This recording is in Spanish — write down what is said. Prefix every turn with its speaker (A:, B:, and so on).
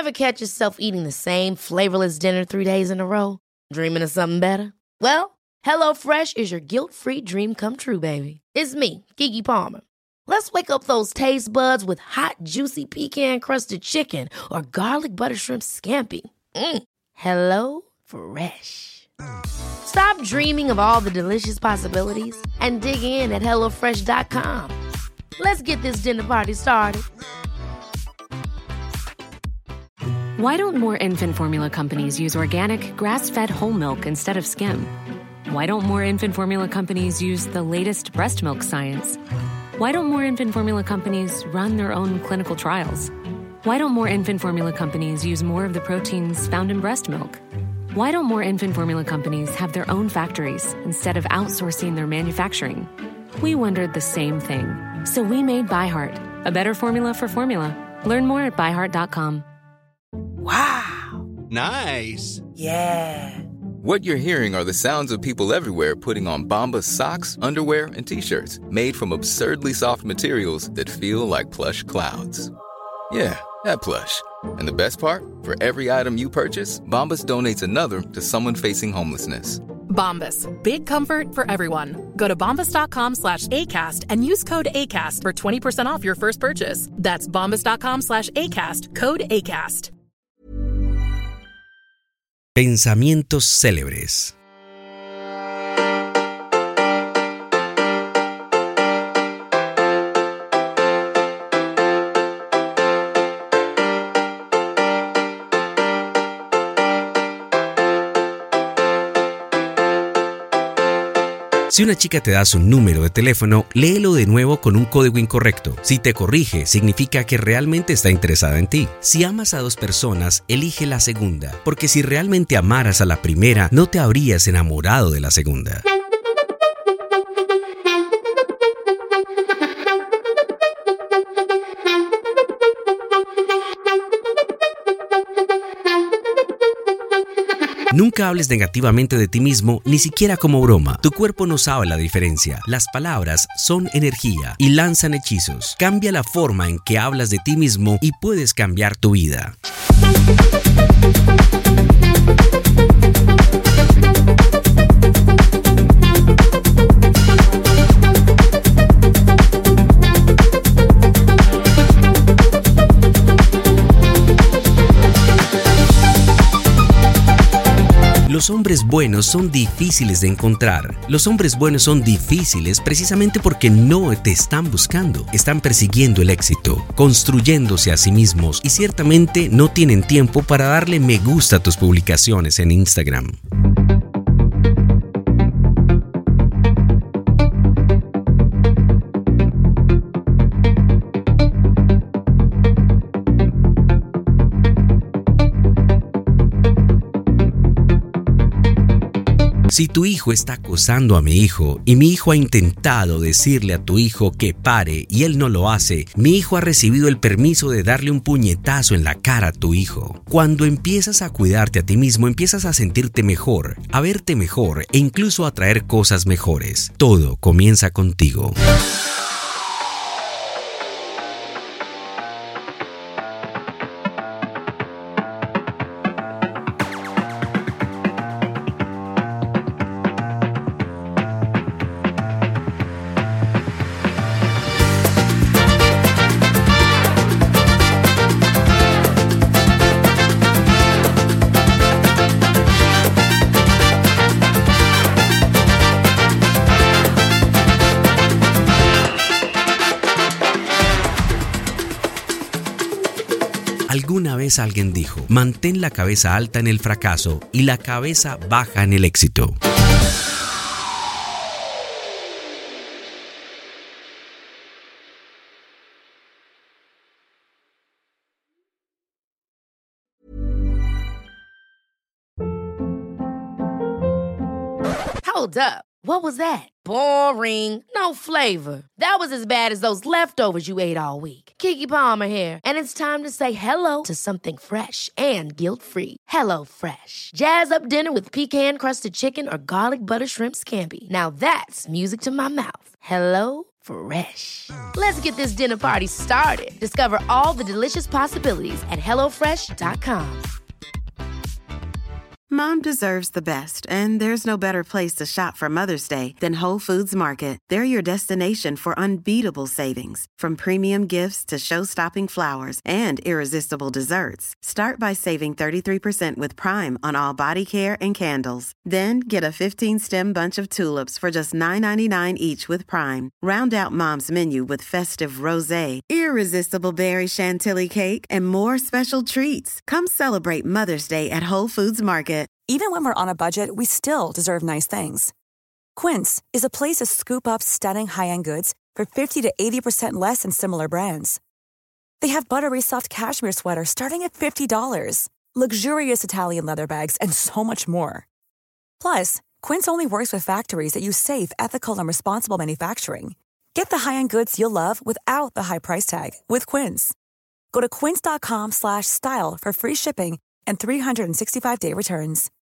A: Ever catch yourself eating the same flavorless dinner 3 days in a row? Dreaming of something better? Well, HelloFresh is your guilt-free dream come true, baby. It's me, Keke Palmer. Let's wake up those taste buds with hot, juicy pecan-crusted chicken or garlic butter shrimp scampi. Hello Fresh. Stop dreaming of all the delicious possibilities and dig in at HelloFresh.com. Let's get this dinner party started.
B: Why don't more infant formula companies use organic, grass-fed whole milk instead of skim? Why don't more infant formula companies use the latest breast milk science? Why don't more infant formula companies run their own clinical trials? Why don't more infant formula companies use more of the proteins found in breast milk? Why don't more infant formula companies have their own factories instead of outsourcing their manufacturing? We wondered the same thing. So we made ByHeart, a better formula for formula. Learn more at byheart.com.
C: Wow.
D: Nice.
C: Yeah.
E: What you're hearing are the sounds of people everywhere putting on Bombas socks, underwear, and T-shirts made from absurdly soft materials that feel like plush clouds. Yeah, that plush. And the best part? For every item you purchase, Bombas donates another to someone facing homelessness.
F: Bombas. Big comfort for everyone. Go to bombas.com/ACAST and use code ACAST for 20% off your first purchase. That's bombas.com/ACAST. Code ACAST.
G: Pensamientos célebres. Si una chica te da su número de teléfono, léelo de nuevo con un código incorrecto. Si te corrige, significa que realmente está interesada en ti. Si amas a dos personas, elige la segunda, porque si realmente amaras a la primera, no te habrías enamorado de la segunda. Nunca hables negativamente de ti mismo, ni siquiera como broma. Tu cuerpo no sabe la diferencia. Las palabras son energía y lanzan hechizos. Cambia la forma en que hablas de ti mismo y puedes cambiar tu vida. Los hombres buenos son difíciles de encontrar. Los hombres buenos son difíciles precisamente porque no te están buscando. Están persiguiendo el éxito, construyéndose a sí mismos y ciertamente no tienen tiempo para darle me gusta a tus publicaciones en Instagram. Si tu hijo está acosando a mi hijo y mi hijo ha intentado decirle a tu hijo que pare y él no lo hace, mi hijo ha recibido el permiso de darle un puñetazo en la cara a tu hijo. Cuando empiezas a cuidarte a ti mismo, empiezas a sentirte mejor, a verte mejor e incluso a atraer cosas mejores. Todo comienza contigo. Alguna vez alguien dijo, mantén la cabeza alta en el fracaso y la cabeza baja en el éxito.
A: Hold up. What was that? Boring. No flavor. That was as bad as those leftovers you ate all week. Keke Palmer here, and it's time to say hello to something fresh and guilt-free. Hello Fresh. Jazz up dinner with pecan-crusted chicken or garlic butter shrimp scampi. Now that's music to my mouth. Hello Fresh. Let's get this dinner party started. Discover all the delicious possibilities at HelloFresh.com.
D: Mom deserves the best, and there's no better place to shop for Mother's Day than Whole Foods Market. They're your destination for unbeatable savings, from premium gifts to show-stopping flowers and irresistible desserts. Start by saving 33% with Prime on all body care and candles. Then get a 15-stem bunch of tulips for just $9.99 each with Prime. Round out Mom's menu with festive rosé, irresistible berry chantilly cake, and more special treats. Come celebrate Mother's Day at Whole Foods Market.
H: Even when we're on a budget, we still deserve nice things. Quince is a place to scoop up stunning high-end goods for 50 to 80% less than similar brands. They have buttery soft cashmere sweaters starting at $50, luxurious Italian leather bags, and so much more. Plus, Quince only works with factories that use safe, ethical, and responsible manufacturing. Get the high-end goods you'll love without the high price tag with Quince. Go to quince.com/style for free shipping and 365-day returns.